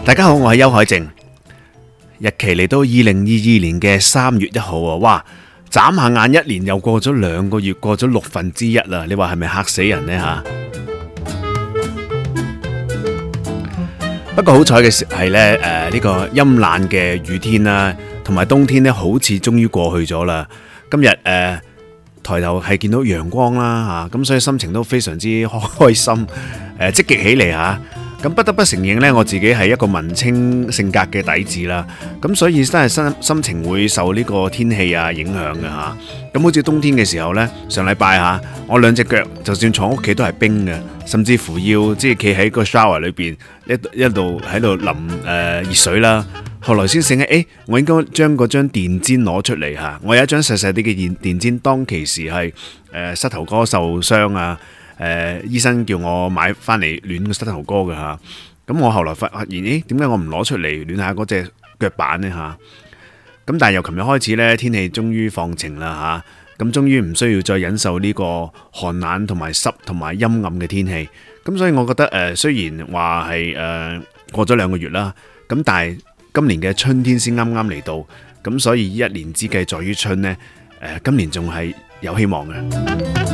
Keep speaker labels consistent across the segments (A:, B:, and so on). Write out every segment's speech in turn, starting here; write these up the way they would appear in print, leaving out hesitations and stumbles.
A: 大家好，我係邱海靖。日期嚟到2022年嘅3月1號啊！哇，眨下眼一年又過咗2個月，過咗1/6啦！你話係咪嚇死人呢？吓？不過好彩嘅係呢，呢個陰冷嘅雨天啦，同埋冬天呢，好似終於過去咗啦。今日抬頭係見到陽光啦，吓，咁所以心情都非常之開心，積極起嚟吓。咁不得不承認呢，我自己係一個文青性格嘅底子啦，咁所以真係心情會受呢個天氣啊影響嘅吓。咁好似冬天嘅時候呢，上禮拜吓，我兩隻腳就算坐屋企都係冰嘅，甚至乎要即係企喺個 shower 裏邊一度喺度淋熱水啦。後來先醒起，我應該將嗰張電氈攞出嚟吓。我有一張細細啲嘅電氈，當其時係膝頭哥受傷啊。醫生叫我買翻嚟暖個膝頭哥嘅吓，咁我後來發現，點解我唔攞出嚟暖下嗰隻腳板呢吓？咁但係由琴日開始呢，天氣終於放晴啦吓，咁終於唔需要再忍受呢個寒冷同埋濕同埋陰暗嘅天氣。咁所以我覺得雖然話係過咗2個月啦，咁但係今年嘅春天先啱啱嚟到，咁所以一年之計在於春呢，今年仲係有希望嘅。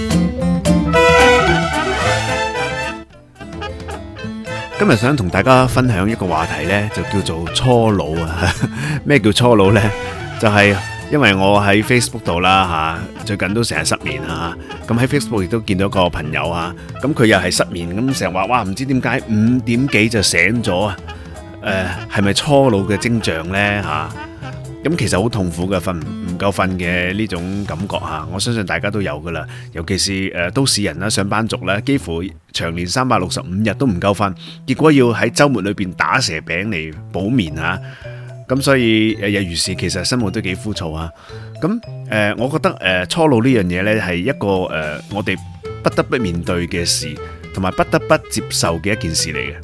A: 今日想同大家分享一個話題呢，就叫做初老啊。咩叫初老呢？就係因為我喺 Facebook 度啦吓，最近都成日失眠啊。咁喺 Facebook 亦都見到個朋友啊，咁佢又係失眠，咁成日話哇，唔知點解5點幾就醒咗啊？係咪初老嘅徵象呢？吓？咁其實好痛苦嘅，瞓唔夠瞓嘅呢種感覺吓，我相信大家都有噶啦。尤其是都市人啦、上班族啦，幾乎長年365日都唔夠瞓，結果要喺週末裏邊打蛇餅嚟補眠吓。咁所以日如是，其實生活都幾枯燥啊。咁我覺得初老呢樣嘢呢，係一個我哋不得不面對嘅事，同埋不得不接受嘅一件事嚟嘅。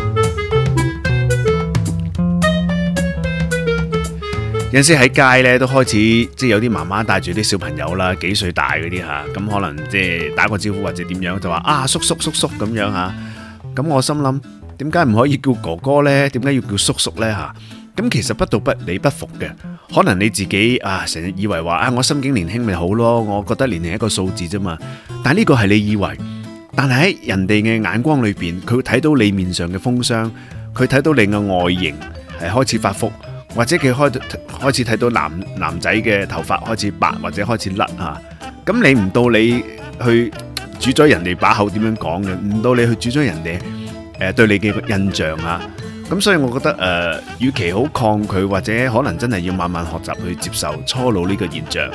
A: 有陣時喺街咧都開始即係有啲媽媽帶住啲小朋友啦，幾歲大嗰啲吓，咁可能即係打個招呼或者點樣就話啊叔叔叔叔咁樣吓，咁我心諗點解唔可以叫哥哥呢？點解要叫叔叔呢？吓？咁其實不道不理不服嘅，可能你自己啊成日以為話啊我心境年輕咪好咯，我覺得年齡係一個數字啫嘛，但係呢個係你以為，但係喺人哋嘅眼光裏邊，佢會睇到你面上嘅風霜，佢睇到你嘅外形係開始發福。或者佢開始睇到男仔嘅頭髮開始白或者開始甩啊，咁你唔到你去主宰人哋把口點樣講嘅，唔到你去主宰人哋對你嘅印象啊，咁所以我覺得與其好抗拒，或者可能真係要慢慢學習去接受初老呢個現象。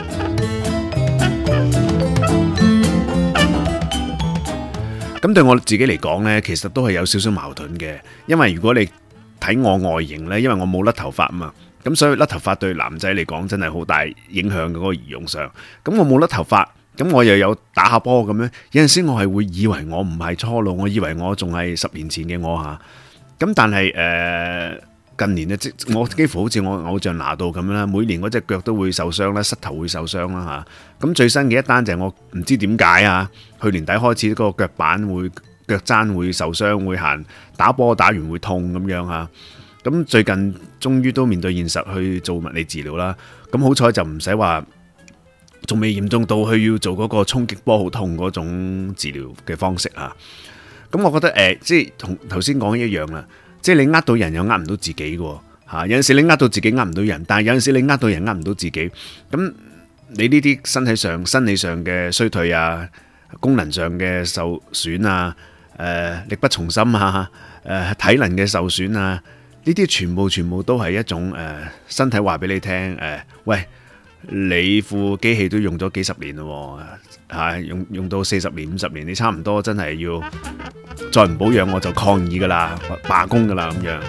A: 咁對我自己嚟講呢，其實都係有少少矛盾嘅，因為如果你睇我外形呢，因為我冇甩頭髮嘛，咁所以甩頭髮對男仔嚟講真係好大影響嘅嗰個儀容上。咁我冇甩頭髮，咁我又有打下波咁樣，有陣時我係會以為我唔係初老，我以為我仲係10年前嘅我吓。咁但係近年呢，我幾乎好似我偶像拿度咁樣啦，每年嗰隻腳都會受傷啦，膝頭會受傷啦吓。咁最新嘅一單就係我唔知點解啊，去年底開始嗰個腳板會。腳踭會受傷，會行打波打完會痛咁樣吓。咁最近終於都面對現實去做物理治療啦。咁好彩就唔使話，仲未嚴重到去要做嗰個衝擊波好痛嗰種治療嘅方式啊。咁我覺得即係同頭先講一樣啦。即係你呃到人又呃唔到自己嘅吓。有陣時你呃到自己呃唔到人，但係有陣時你呃到人呃唔到自己。咁你呢啲身體上、生理上嘅衰退啊，功能上嘅受損啊。力不從心啊！體能嘅受損啊，呢啲全部都係一種身體話俾你聽喂，你副機器都用咗幾十年咯，用到40年50年，你差唔多真係要再唔保養我就抗議噶啦，罷工噶啦咁樣。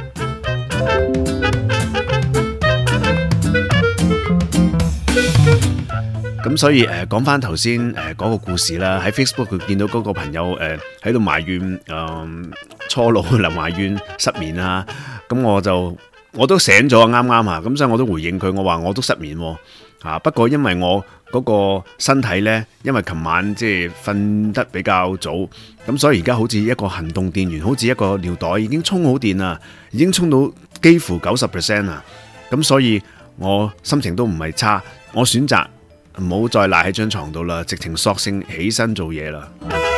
A: 咁所以講翻頭先嗰個故事啦，喺 Facebook 佢見到嗰個朋友喺度埋怨初老，埋怨失眠啊，咁我就我都醒咗啱啱啊，咁所以我都回應佢，我話我都失眠喎，不過因為我嗰個身體呢，因為琴晚即係瞓得比較早，咁所以而家好似一個行動電源，好似一個尿袋已經充好電啦，已經充到幾乎 90% 啦，咁所以我心情都唔係差，我選擇唔好再賴喺張床度啦，直情索性起身做嘢啦。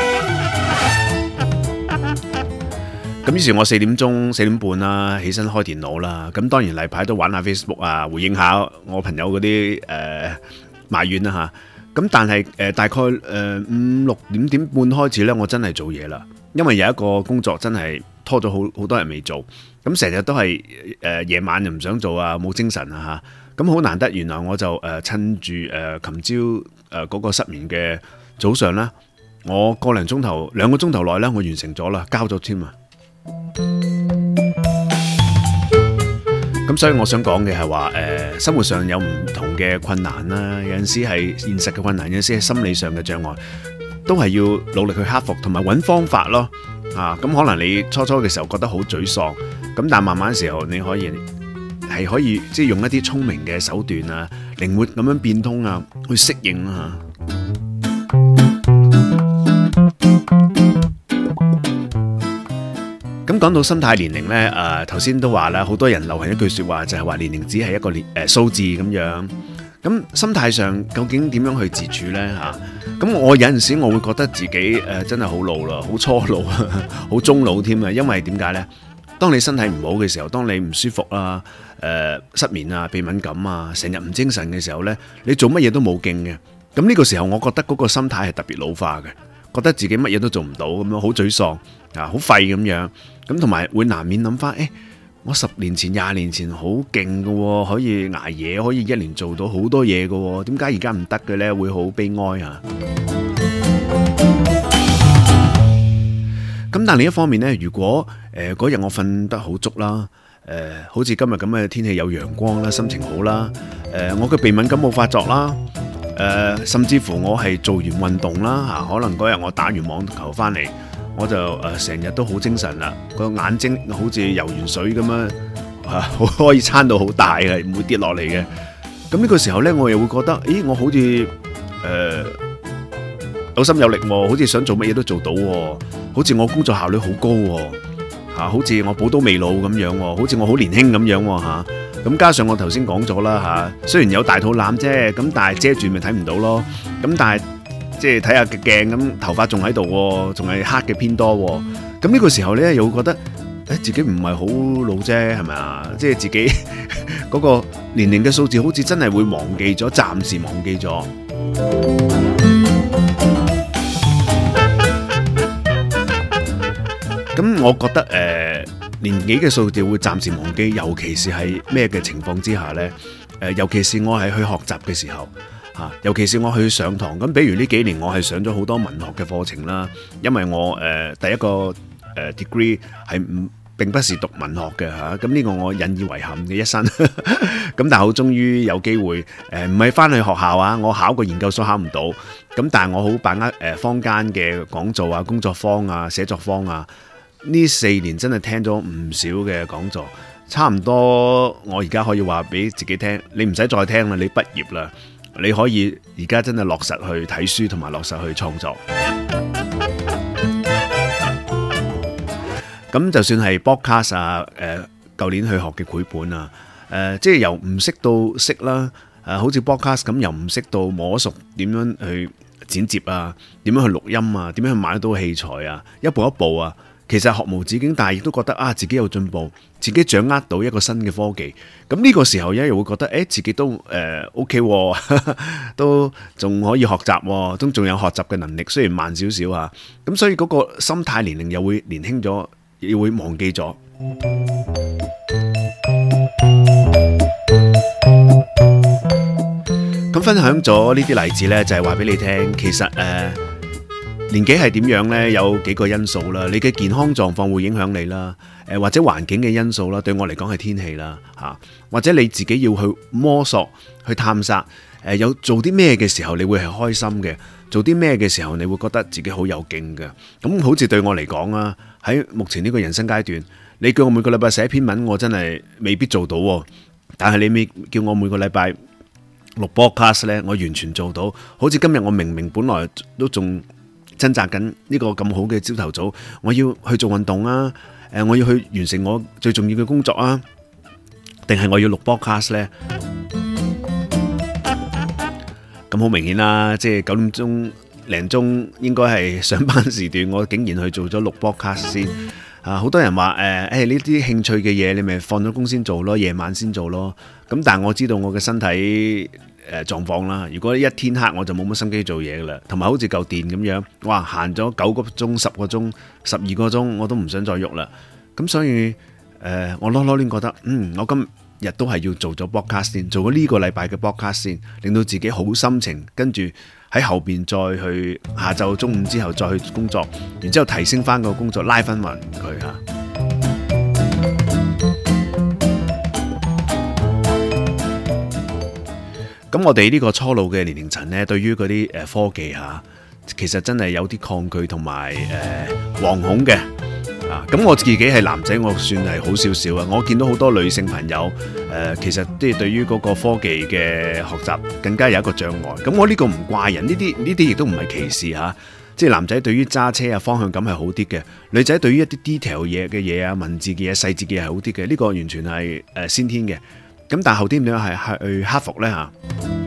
A: 咁於是我4點半啦，起身開電腦啦。咁當然例牌都玩下 Facebook 啊，回應下我朋友嗰啲埋怨啦嚇。咁但係大概5、6點半開始呢，我真係做嘢啦。因為有一個工作真係拖咗好多人未做，咁成日都係夜晚又唔想做啊，冇精神啊嚇。咁好難得，原來我就趁住琴朝嗰個失眠嘅早上啦，我個零鐘頭2個鐘頭內呢，我完成咗啦，交咗添啊！咁所以我想講嘅係話，生活上有唔同嘅困難啦，有陣時係現實嘅困難，有陣時係心理上嘅障礙，都係要努力去克服，同埋揾方法咯。咁可能你初嘅時候覺得好沮喪，咁但慢慢嘅時候你可以即係用一啲聰明嘅手段啊，靈活咁樣變通啊，去適應啊。咁講到心態年齡呢，頭先都話啦，好多人流行一句說話就係話年齡只係一個數字咁樣。咁心態上究竟點樣去自處呢？咁我有陣時我會覺得自己真係好老啦，好初老，好中老添啊。因為點解呢？當你身體唔好嘅時候，當你唔舒服啊、失眠啊、鼻敏感啊、成日唔精神嘅時候呢，你做乜嘢都冇勁嘅。咁呢個時候，我覺得嗰個心態係特別老化嘅，覺得自己乜嘢都做唔到咁樣，好沮喪啊，好廢咁樣。咁同埋會難免諗翻，我10年前、20年前好勁嘅，可以捱夜，可以一年做到好多嘢嘅，點解而家唔得嘅呢？會好悲哀啊！咁但另一方面呢，如果嗰日我瞓得好足啦，好似今日咁嘅天氣有陽光啦，心情好啦，我嘅鼻敏感冇發作啦，甚至乎我係做完運動啦，可能嗰日我打完網球翻嚟，我就成日都好精神啦，個眼睛好似游完水咁樣，可以撐到好大嘅，唔會跌落嚟嘅。咁呢個時候呢，我又會覺得，咦，我好似有心有力喎，好似想做乜嘢都做到喎，好似我工作效率好高喎，好似我寶刀未老咁樣喎，好似我好年輕咁樣喎嚇。咁加上我頭先講咗啦嚇，雖然有大肚腩啫，咁但係遮住咪睇唔到咯。咁但係即係睇下嘅鏡咁，頭髮仲喺度喎，仲係黑嘅偏多喎。咁呢個時候呢，又會覺得自己唔係好老啫，係咪啊？即係自己嗰個年齡嘅數字好似真係會忘記咗，暫時忘記咗。咁我覺得年紀嘅數字會暫時忘記，尤其是係咩嘅情況之下呢？尤其是我係去學習嘅時候，尤其是我去上堂。咁比如呢幾年我係上咗好多文學嘅課程啦，因為我第一個degree 係並不是讀文學嘅嚇，咁呢個我引以為憾嘅一生。咁但係好終於有機會，唔係返去學校啊，我考個研究所考唔到，咁但係我好把握坊間嘅講座啊、工作坊啊、寫作坊啊。呢4年真係聽咗唔少嘅講座，差唔多我而家可以話俾自己聽，你唔使再聽啦，你畢業啦，你可以而家真係落實去睇書同埋落實去創作。咁就算係 podcast 啊，舊年去學嘅繪本啊，即係由唔識到識啦，好似 podcast 咁，由唔識到摸熟點樣去剪接啊，點樣去錄音啊，點樣去買到器材啊，一步一步啊。其實學無止境，但係亦都覺得自己有進步，自己掌握到一個新嘅科技。咁呢個時候又會覺得，自己都OK，都仲可以學習，都仲有學習嘅能力，雖然慢少少啊。咁所以嗰個心態年齡又會年輕咗，又會忘記咗。咁分享咗呢啲例子呢，就係話俾你聽，其實年紀係點樣呢？有幾個因素啦，你嘅健康狀況會影響你啦，或者環境嘅因素啦，對我嚟講係天氣啦，或者你自己要去摸索、去探索，有做啲咩嘅時候你會係開心嘅，做啲咩嘅時候你會覺得自己好有勁嘅。咁好似對我嚟講啊，喺目前呢個人生階段， 你叫我每個禮拜寫篇文，我真係未必做到喎。但係你未叫我每個禮拜錄 podcast 呢，我完全做到。好似今日我明明本來都仲掙扎緊呢個咁好嘅朝頭早，我要去做運動啊，我要去完成我最重要嘅工作啊，定係我要錄 podcast 呢？咁好明顯啦，即係9點鐘零鐘應該係上班時段，我竟然去做咗錄 podcast 先。好多人話呢啲興趣嘅嘢，你咪放咗工先做咯，夜晚先做咯。咁但係我知道我嘅身體狀況啦。如果一天黑我就冇乜心機做嘢噶啦，同埋好似嚿電咁樣，哇行咗9個鐘、10個鐘、12個鐘，我都唔想再喐啦。咁所以我囉攣覺得，我今日都係要做咗 podcast 先，做咗呢個禮拜嘅 podcast 先，令到自己好心情，跟住喺後邊再去下晝中午之後再去工作，然之後提升翻個工作，拉翻勻佢嚇。咁我哋呢個初老嘅年齡層呢，對於嗰啲科技嚇，其實真係有啲抗拒同埋惶恐嘅。咁我自己係男仔，我算係好少少啊。我見到好多女性朋友，其實即係對於嗰個科技嘅學習更加有一個障礙。咁我呢個唔怪人，呢啲亦都唔係歧視嚇。即係男仔對於揸車啊方向感係好啲嘅，女仔對於一啲 detail 嘅嘢啊、文字嘅嘢、細節嘅嘢係好啲嘅。呢個完全係先天嘅。咁但係後天點樣係去克服呢嚇？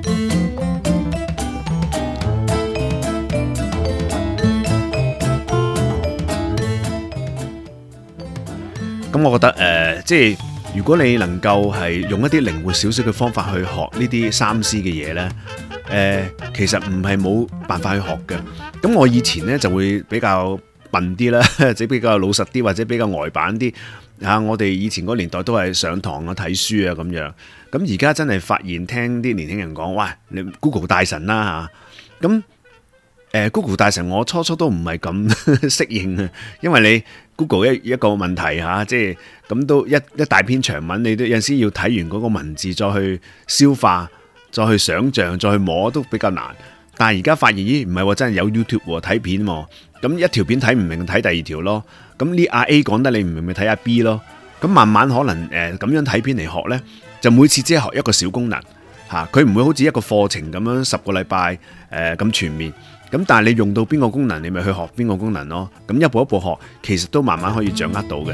A: 咁我覺得即係如果你能夠係用一啲靈活少少嘅方法去學呢啲3C嘅嘢呢，其實唔係冇辦法去學嘅。咁我以前呢就會比較笨啲啦，或者比較老實啲，或者比較呆板啲。我哋以前嗰年代都係上堂啊、睇書啊咁樣。咁而家真係發現聽啲年輕人講，喂，你 Google 大神啦嚇。咁Google 大神我初都唔係咁適應啊，因為你 Google 一個問題嚇，即係咁都一大篇長文，你都有陣時要睇完嗰個文字再去消化，再去想像，再去摸都比較難。但係而家發現，咦唔係喎，真係有 YouTube 喎，睇片喎，咁一條片睇唔明睇第二條咯。咁呢阿 A 講得你唔明咪睇阿 B 咯。咁慢慢可能咁樣睇片嚟學呢，就每次只係學一個小功能嚇，佢唔會好似一個課程咁樣10個禮拜咁全面。咁但係你用到邊個功能，你咪去學邊個功能咯。咁一步一步學，其實都慢慢可以掌握到嘅。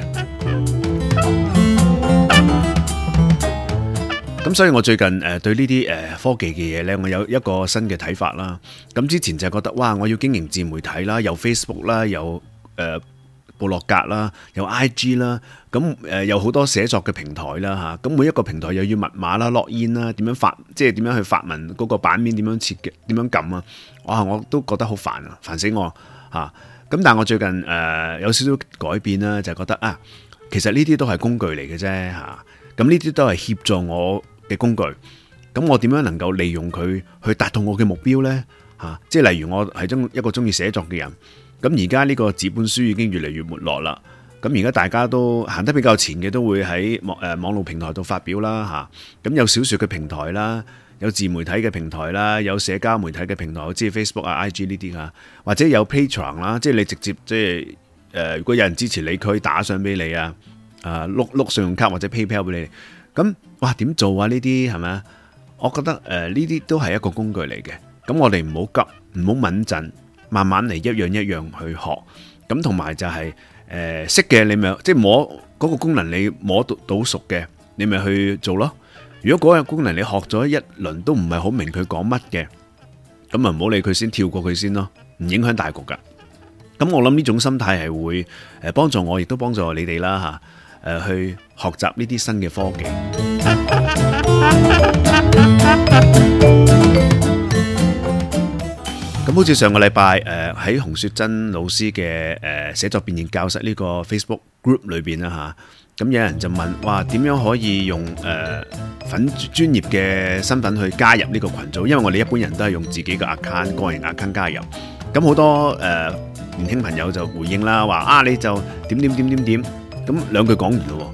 A: 咁所以我最近對呢啲科技嘅嘢呢，我有一個新嘅睇法啦。咁之前就覺得哇，我要經營自媒體啦，有 Facebook 啦，有部落格啦，有 IG 啦，咁有好多寫作嘅平台啦嚇。咁每一個平台又要密碼啦、login 啦，點樣發，即係點樣去發文嗰個版面點樣設計，點樣撳啊？哇！我都覺得好煩啊，煩死我嚇。咁但係我最近有少少改變啦，就係覺得啊，其實呢啲都係工具嚟嘅啫嚇。咁呢啲都係協助我嘅工具。咁我點樣能夠利用佢去達到我嘅目標呢？嚇，即係例如我係一個中意寫作嘅人。咁而家呢個紙本書已經越嚟越沒落啦。咁而家大家都行得比較前嘅，都會喺網絡平台度發表啦嚇。咁有小說嘅平台啦，有自媒體嘅平台啦，有社交媒體嘅平台，好似 Facebook 啊、IG 呢啲嚇，或者有 Patreon 啦，即係你直接即係如果有人支持你，佢可以打賞俾你啊，碌信用卡或者 PayPal 俾你。咁哇點做啊？呢啲係咪啊？我覺得呢啲都係一個工具嚟嘅。咁我哋唔好急，唔好敏陣。慢慢嚟，一樣一樣去學，咁同埋就係識嘅你咪即係摸嗰個功能，你摸到熟嘅，你咪去做咯。如果嗰個功能你學咗一輪都唔係好明佢講乜嘅，咁啊唔好理佢先，跳過佢先咯，唔影響大局噶。咁我諗呢種心態係會幫助我，亦都幫助你哋啦嚇，去學習呢啲新嘅科技。咁好似上個禮拜喺洪雪珍老師嘅寫作變現教室呢個 Facebook group 裏邊啦嚇，咁有人就問，哇點樣可以用粉專業嘅身份去加入呢個群組？因為我哋一般人都係用自己嘅 account 個人 account 加入。咁好多年輕朋友就回應啦，話啊你就點，咁兩句講完咯。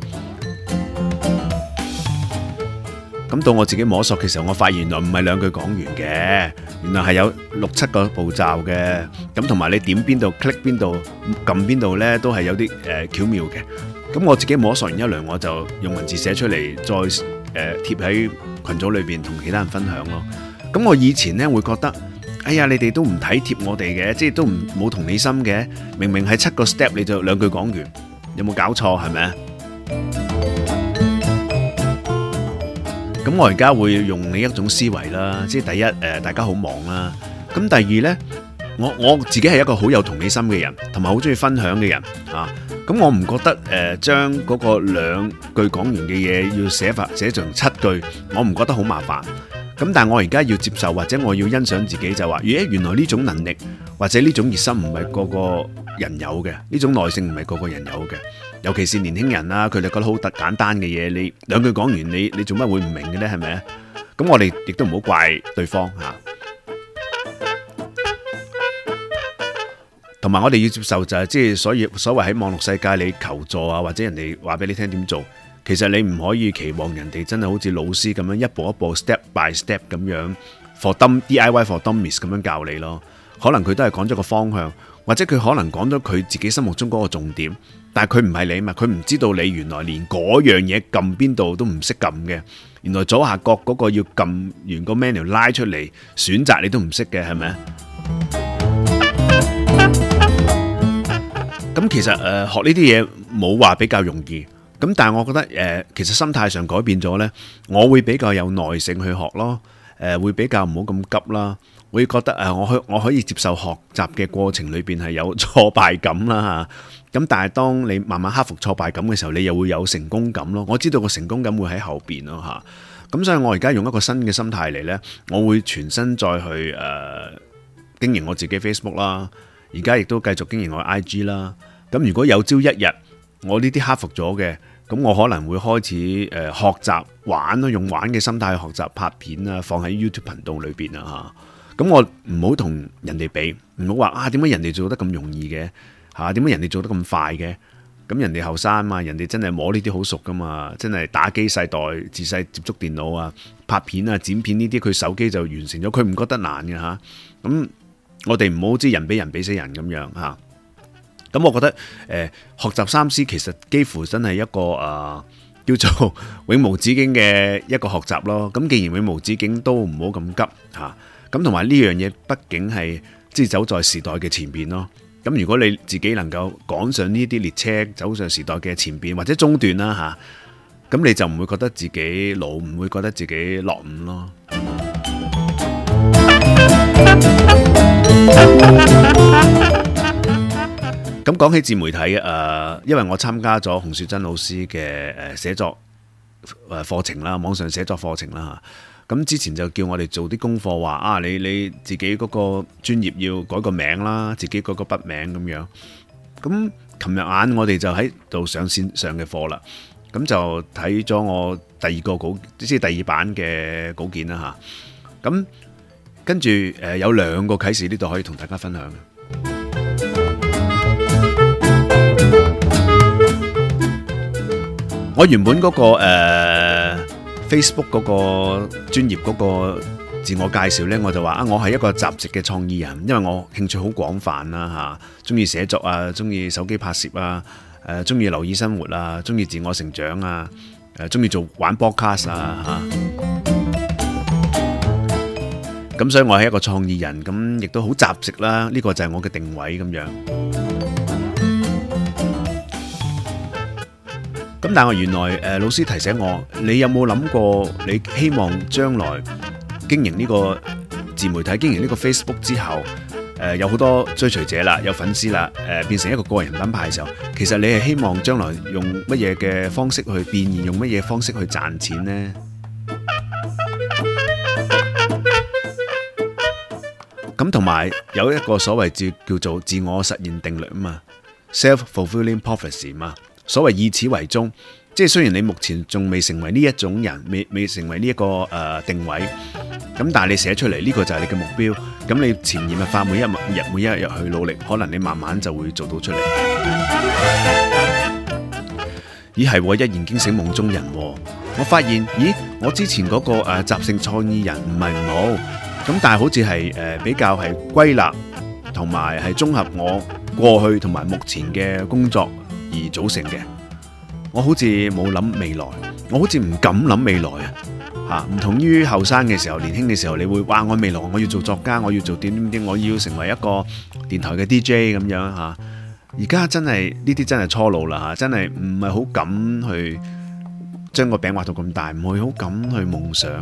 A: 咁到我自己摸索嘅時候，我發現原來唔係兩句講完嘅，原來係有6、7個步驟嘅。咁同埋你點邊度 click 邊度撳邊度呢，都係有啲巧妙嘅。 咁我自己摸索完一輪，我就用文字寫出嚟，再貼喺群組裏邊同其他人分享咯。咁我以前呢會覺得，哎呀，你哋都唔體貼我哋嘅，即係都冇同理心嘅。明明係7個 step 你就2句講完，有冇搞錯係咪啊？咁我而家會用另一種思維啦，即係第一大家好忙啦。咁第二呢，我自己係一個好有同理心嘅人，同埋好中意分享嘅人啊。咁我唔覺得將嗰個2句講完嘅嘢要寫成7句，我唔覺得好麻煩。咁但係我而家要接受或者我要欣賞自己就話，原來呢種能力或者呢種熱心唔係個個人有嘅，呢種耐性唔係個個人有嘅。尤其是年輕人啦，佢哋覺得好簡單嘅嘢，你2句講完，你做乜會唔明嘅呢？係咪啊？咁我哋亦都唔好怪對方嚇。同埋我哋要接受就係即係所謂喺網絡世界你求助啊，或者人哋話俾你聽點做，其實你唔可以期望人哋真係好似老師咁樣一步一步 step by step 咁樣 DIY for dummies 咁樣教你咯。可能佢都係講咗個方向，或者佢可能講咗佢自己心目中嗰個重點，但係佢唔係你嘛，佢唔知道你原來連嗰樣嘢撳邊度都唔識撳嘅，原來左下角嗰個要撳完個 menu 拉出嚟選擇你都唔識嘅，係咪啊？咁其實學呢啲嘢冇話比較容易，咁但係我覺得其實心態上改變咗呢，我會比較有耐性去學咯，會比較唔好咁急啦，會覺得我可以接受學習嘅過程裏邊係有挫敗感啦嚇，咁但係當你慢慢克服挫敗感嘅時候，你又會有成功感咯，我知道個成功感會喺後邊咯嚇，咁所以我而家用一個新嘅心態嚟呢，我會全身再去經營我自己 Facebook 啦。而家亦都繼續經營我 IG 啦。咁如果有朝一日我呢啲克服咗嘅，咁我可能會開始學習玩咯，用玩嘅心態去學習拍片啊，放喺 YouTube 頻道裏邊啊嚇。咁我唔好同人哋比，唔好話點解人哋做得咁容易嘅嚇？點解人哋做得咁快嘅？咁人哋後生嘛，人哋真係摸呢啲好熟噶嘛，真係打機世代，自細接觸電腦啊，拍片啊、剪片呢啲，佢手機就完成咗，佢唔覺得難嘅嚇。咁我哋唔好知人比人比死人咁樣嚇，咁我覺得學習3C其實幾乎真係一個叫做永無止境嘅一個學習咯。咁既然永無止境，都唔好咁急嚇。咁同埋呢樣嘢，畢竟係即係走在時代嘅前邊咯。咁如果你自己能夠趕上呢啲列車，走上時代嘅前邊或者中段啦嚇，咁你就唔會覺得自己老，唔會覺得自己落伍咯。咁講起自媒體因為我參加咗洪雪珍老師嘅寫作課程啦，網上寫作課程啦嚇。咁之前就叫我哋做啲功課，話你自己嗰個專頁要改個名啦，自己改個筆名咁樣。咁琴日晏我哋就喺度上線上嘅課啦，咁就睇咗我第2個稿，即係第2版嘅稿件啦嚇。咁跟住有2個啟示呢度可以同大家分享嘅。我原本嗰個Facebook 嗰個專頁嗰個自我介紹呢，我就話我係一個雜食嘅創意人，因為我興趣好廣泛啦嚇，中意寫作啊，中意手機拍攝啊，中意留意生活啊，中意自我成長啊，中意玩 podcast 啊嚇。咁所以我係一個創意人，咁亦都好雜食啦。呢個就係我嘅定位咁樣。咁但係原來老師提醒我，你有冇諗過你希望將來經營呢個自媒體、經營呢個 Facebook 之後，有好多追隨者啦，有粉絲啦，變成一個個人品牌嘅時候，其實你係希望將來用乜嘢嘅方式去變現，用乜嘢方式去賺錢呢？咁同埋有一個所謂叫做自我實現定律啊嘛 ，self-fulfilling prophecy 嘛，所謂以此為終，即係雖然你目前仲未成為呢一種人，未成為呢一個定位，咁但係你寫出嚟呢個就係你嘅目標，咁你潛移默化每一日去努力，可能你慢慢就會做到出嚟。咦係喎，一言驚醒夢中人喎，我發現我之前嗰個雜性創意人唔係唔好。咁但係好似係比較係歸納同埋係綜合我過去同埋目前嘅工作而組成嘅。 我好似冇諗未來，我好似唔敢諗未來啊！唔同於後生嘅時候，年輕嘅時候，你會話我未來我要做作家，我要做點點點，我要成為一個電台嘅 DJ 咁樣嚇。而家真係呢啲真係初老啦嚇，真係唔係好敢去將個餅畫到咁大，唔會好敢去夢想。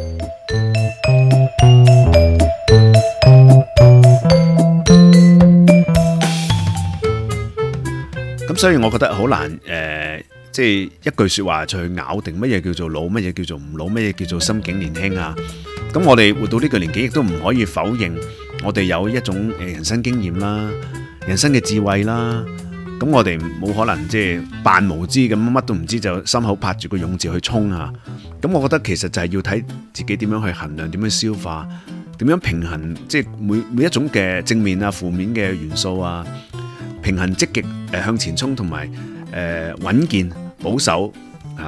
A: 咁所以我覺得好難即係一句說話就去咬定乜嘢叫做老，乜嘢叫做唔老，乜嘢叫做心境年輕啊。咁我哋活到呢個年紀，亦都唔可以否認我哋有一種人生經驗啦、人生嘅智慧啦。咁我哋冇可能即係扮無知咁乜都唔知，就心口拍住個勇字去衝啊。咁我覺得其實就係要睇自己點樣去衡量，點樣消化，點樣平衡，即係每一種嘅正面啊、負面嘅元素啊，平衡積極向前衝同埋穩健保守啊。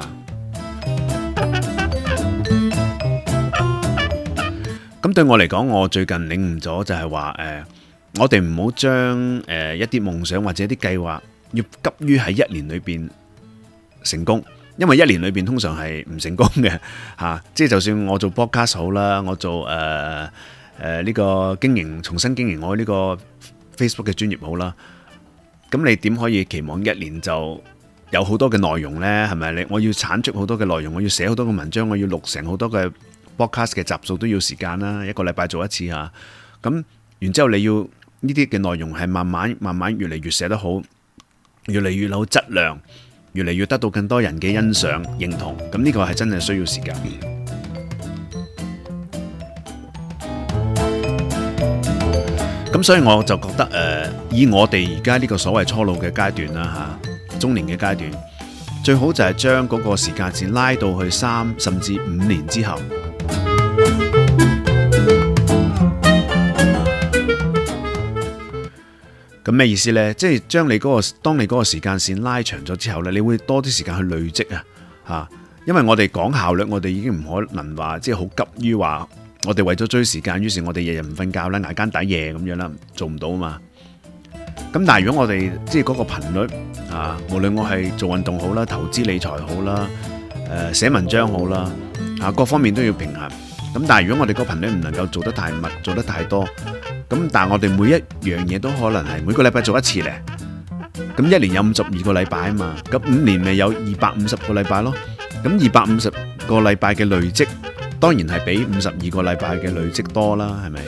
A: 咁對我嚟講，我最近領悟咗就係話我哋唔好將一啲夢想或者一啲計劃要急於喺一年裏邊成功，因為一年裏邊通常係唔成功嘅嚇。即係就算我做 podcast 好啦，我做呢個重新經營我呢個 Facebook 嘅專頁好啦，咁你點可以期望一年就有好多嘅內容呢？係咪？我要產出好多嘅內容，我要寫好多嘅文章，我要錄成好多嘅 podcast 嘅集數都要時間啦，一個禮拜做一次嚇。咁然之後你要呢啲嘅內容係慢慢越嚟越寫得好，越嚟越有質量，越嚟越得到更多人嘅欣賞認同。咁呢個係真係需要時間。咁所以我就覺得以我哋而家呢個所謂初老嘅階段啦嚇，中年嘅階段，最好就係將嗰個時間線拉到去3甚至5年之後。咁咩意思呢？即係將當你嗰個時間線拉長咗之後呢，你會多啲時間去累積啊嚇。因為我哋講效率，我哋已經唔可能話即係好急於話，我哋為咗追時間，於是我哋日日唔瞓覺啦，捱更抵夜咁樣啦，做唔到啊嘛。咁但係如果我哋即係嗰個頻率啊，無論我係做運動好啦、投資理財好啦、寫文章好啦，各方面都要平衡。咁但係如果我哋個頻率唔能夠做得太密、做得太多，咁但係我哋每一樣嘢都可能係每個禮拜做一次咧。咁一年有52個禮拜啊嘛，咁5年咪有250個禮拜咯。咁250個禮拜嘅累積，當然係比52個禮拜嘅累積多啦，係咪？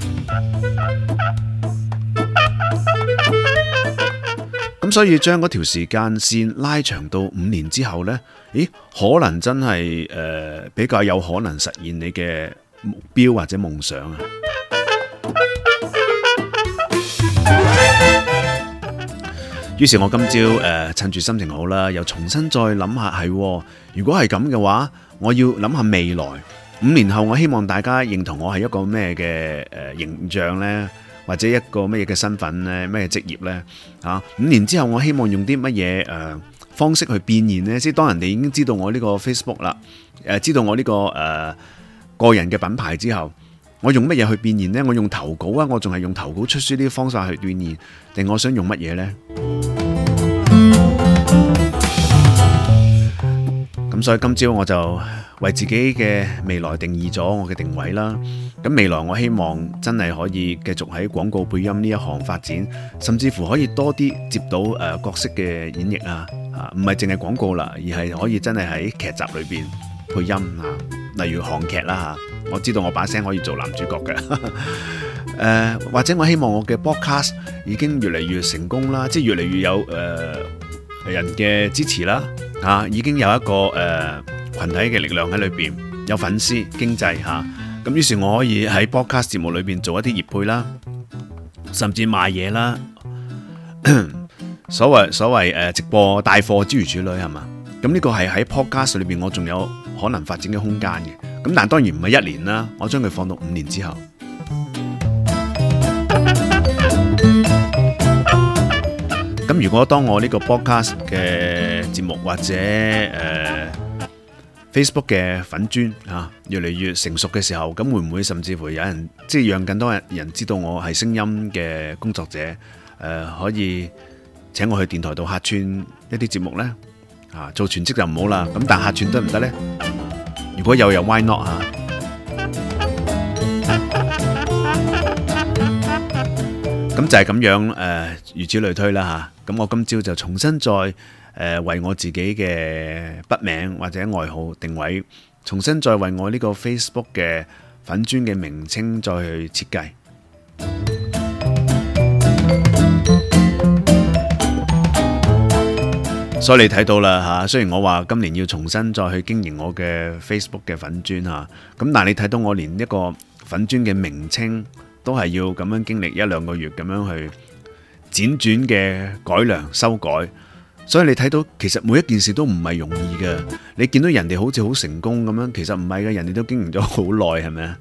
A: 咁所以將嗰條時間線拉長到5年之後呢，可能真係比較有可能實現你嘅目標或者夢想啊！於是我今朝趁住心情好啦，又重新再諗下，如果係咁嘅話，我要諗下未來5年後，我希望大家認同我係一個咩嘅形象呢？或者一個乜嘢嘅身份呢？咩職業呢？5年之後，我希望用啲乜嘢方式去變現呢？即係當人哋已經知道我呢個 Facebook 啦，知道我呢個個人嘅品牌之後，我用乜嘢去變現呢？我用投稿啊，我仲係用投稿出書呢啲方法去變現，定我想用乜嘢呢？咁所以今朝我就為自己嘅未來定義咗我嘅定位啦。咁未來我希望真係可以繼續喺廣告配音呢一行發展，甚至乎可以多啲接到角色嘅演繹啊，唔係淨係廣告啦，而係可以真係喺劇集裏邊配音啊，例如韓劇啦嚇，我知道我把聲可以做男主角嘅。或者我希望我嘅 podcast 已經越嚟越成功啦，即係越嚟越有人嘅支持啦，已經有一個群體嘅力量喺裏邊，有粉絲經濟嚇，咁於是我可以喺 podcast 節目裏邊做一啲業配啦，甚至賣嘢啦，所謂直播帶貨諸如此類係嘛？咁呢個係喺 podcast 裏邊我仲有可能發展嘅空間嘅，咁但係當然唔係1年啦，我將佢放到5年之後。咁如果當我呢個 podcast 嘅節目或者Facebook 嘅粉專越嚟越成熟嘅時候，咁會唔會甚至乎有人即係讓更多人知道我係聲音嘅工作者，可以請我去電台度客串一啲節目呢？ 做全職就唔好啦。咁但客串得唔得呢？如果有 why not 嚇？咁就係咁樣如此類推啦嚇。咁我今朝就重新再為我自己嘅筆名或者外號定位，重新再為我呢個 Facebook 嘅粉專嘅名稱再去設計。所以你睇到啦嚇，雖然我話今年要重新再去經營我嘅 Facebook 嘅粉專嚇，咁但係你睇到我連一個粉專嘅名稱都係要咁樣經歷1-2個月咁樣去輾轉嘅改良修改，所以你睇到其實每一件事都唔係容易嘅。你見到人哋好似好成功咁樣，其實唔係嘅，人哋都經營咗好耐，係咪啊？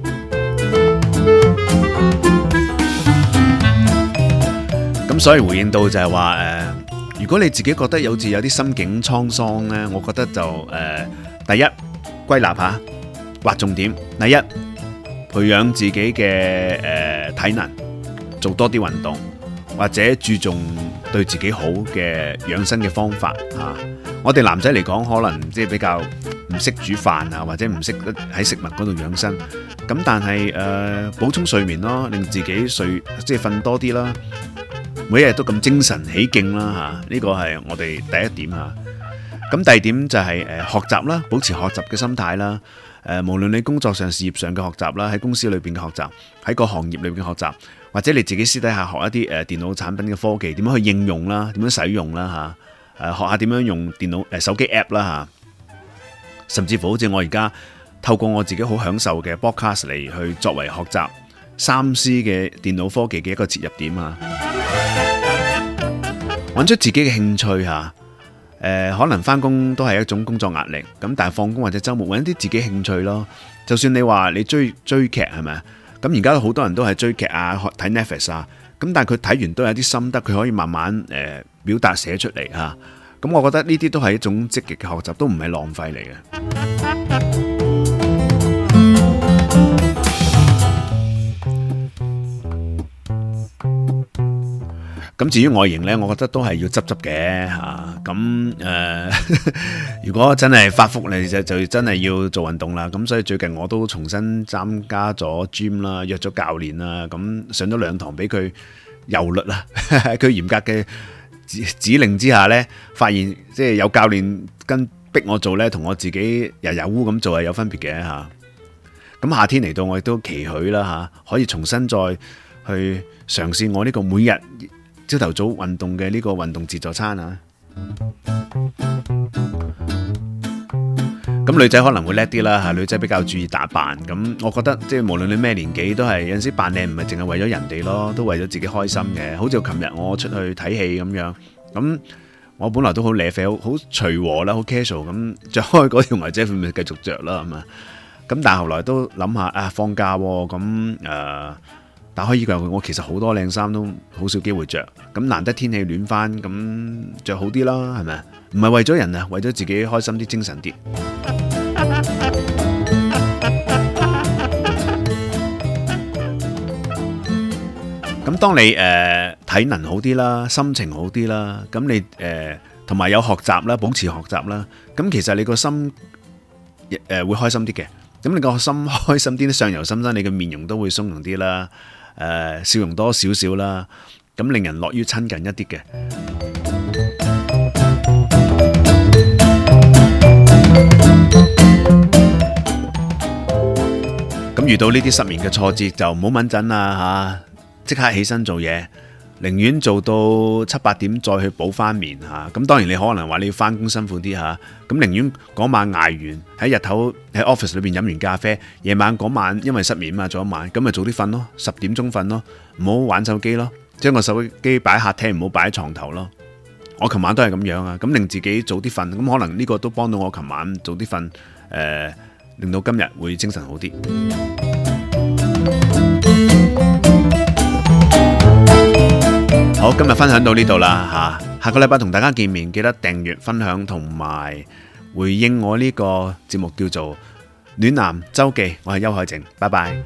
A: 咁所以回應到就係話如果你自己覺得有時有啲心境滄桑呢，我覺得就第一歸納下，劃重點。第一，培養自己嘅體能，做多啲運動，或者注重對自己好嘅養生嘅方法嚇。我哋男仔嚟講，可能即係比較唔識煮飯啊，或者唔識得喺食物嗰度養生。咁但係補充睡眠咯，令自己即係瞓多啲啦。每一日都咁精神起勁啦嚇，呢個係我哋第一點嚇。咁第二點就係學習啦，保持學習嘅心態啦。無論你工作上、事業上嘅學習啦，喺公司裏邊嘅學習，喺個行業裏邊嘅學習，或者你自己私底下學一啲電腦產品嘅科技，點樣去應用啦，點樣使用啦嚇。學下點樣用電腦手機 app 啦嚇。甚至乎好似我而家透過我自己好享受嘅 podcast 嚟去作為學習3C 嘅電腦科技嘅一個切入點啊。揾出自己嘅興趣嚇，可能返工都係一種工作壓力，咁但係放工或者週末揾啲自己興趣咯。就算你話你追劇係咪啊？咁而家好多人都係追劇啊，睇 Netflix 啊，咁但係佢睇完都有啲心得，佢可以慢慢表達寫出嚟嚇。咁我覺得呢啲都係一種積極嘅學習，都唔係浪費嚟嘅。咁至於外形呢，我覺得都係要執嘅嚇。咁如果真係發福嚟就真係要做運動啦。咁所以最近我都重新參加咗 gym 啦，約咗教練啦。咁上咗2堂俾佢柔律啦。喺佢嚴格嘅指令之下呢，發現即係有教練逼我做呢，同我自己日烏咁做係有分別嘅嚇。咁夏天嚟到，我亦都期許啦嚇，可以重新再去嘗試我呢個每日朝頭早運動嘅呢個運動自助餐啊！咁女仔可能會叻啲啦嚇，女仔比較注意打扮。咁我覺得即係無論你咩年紀，都係有陣時扮靚唔係淨係為咗人哋咯，都為咗自己開心嘅。好似琴日我出去睇戲咁樣，咁我本來都好瀨啡，好隨和啦，好 casual 咁着開嗰條牛仔褲咪繼續着啦，係嘛？咁但係後來都諗下放假喎，咁打開衣櫃，我其實好多靚衫都好少機會着，咁難得天氣暖翻，咁着好啲啦，係咪？唔係為咗人啊，為咗自己開心啲、精神啲。咁當你體能好啲啦，心情好啲啦，咁你同埋有學習啦，保持學習啦，咁其實你個心會開心啲嘅。咁你個心開心啲，相由心生，你嘅面容都會鬆容啲啦。笑容多少少啦，咁令人樂於親近一啲嘅。咁遇到呢啲失眠嘅挫折就唔好敏陣啦嚇，即刻起身做嘢，寧願做到7-8點再去補翻眠嚇。咁當然你可能話你要翻工辛苦啲嚇，咁寧願嗰晚捱完喺日頭喺 office 裏邊飲完咖啡，夜晚嗰晚因為失眠嘛，做一晚咁咪早啲瞓咯，10點鐘瞓咯，唔好玩手機咯，將個手機擺喺客廳，唔好擺喺床頭咯。我琴晚都係咁樣啊，咁令自己早啲瞓，咁可能呢個都幫到我琴晚早啲瞓，令到今日會精神好啲。好，今日分享到呢度啦嚇，下個禮拜同大家見面，記得訂閱、分享同埋回應我呢個節目叫做《暖男周記》，我係邱海靖，拜拜。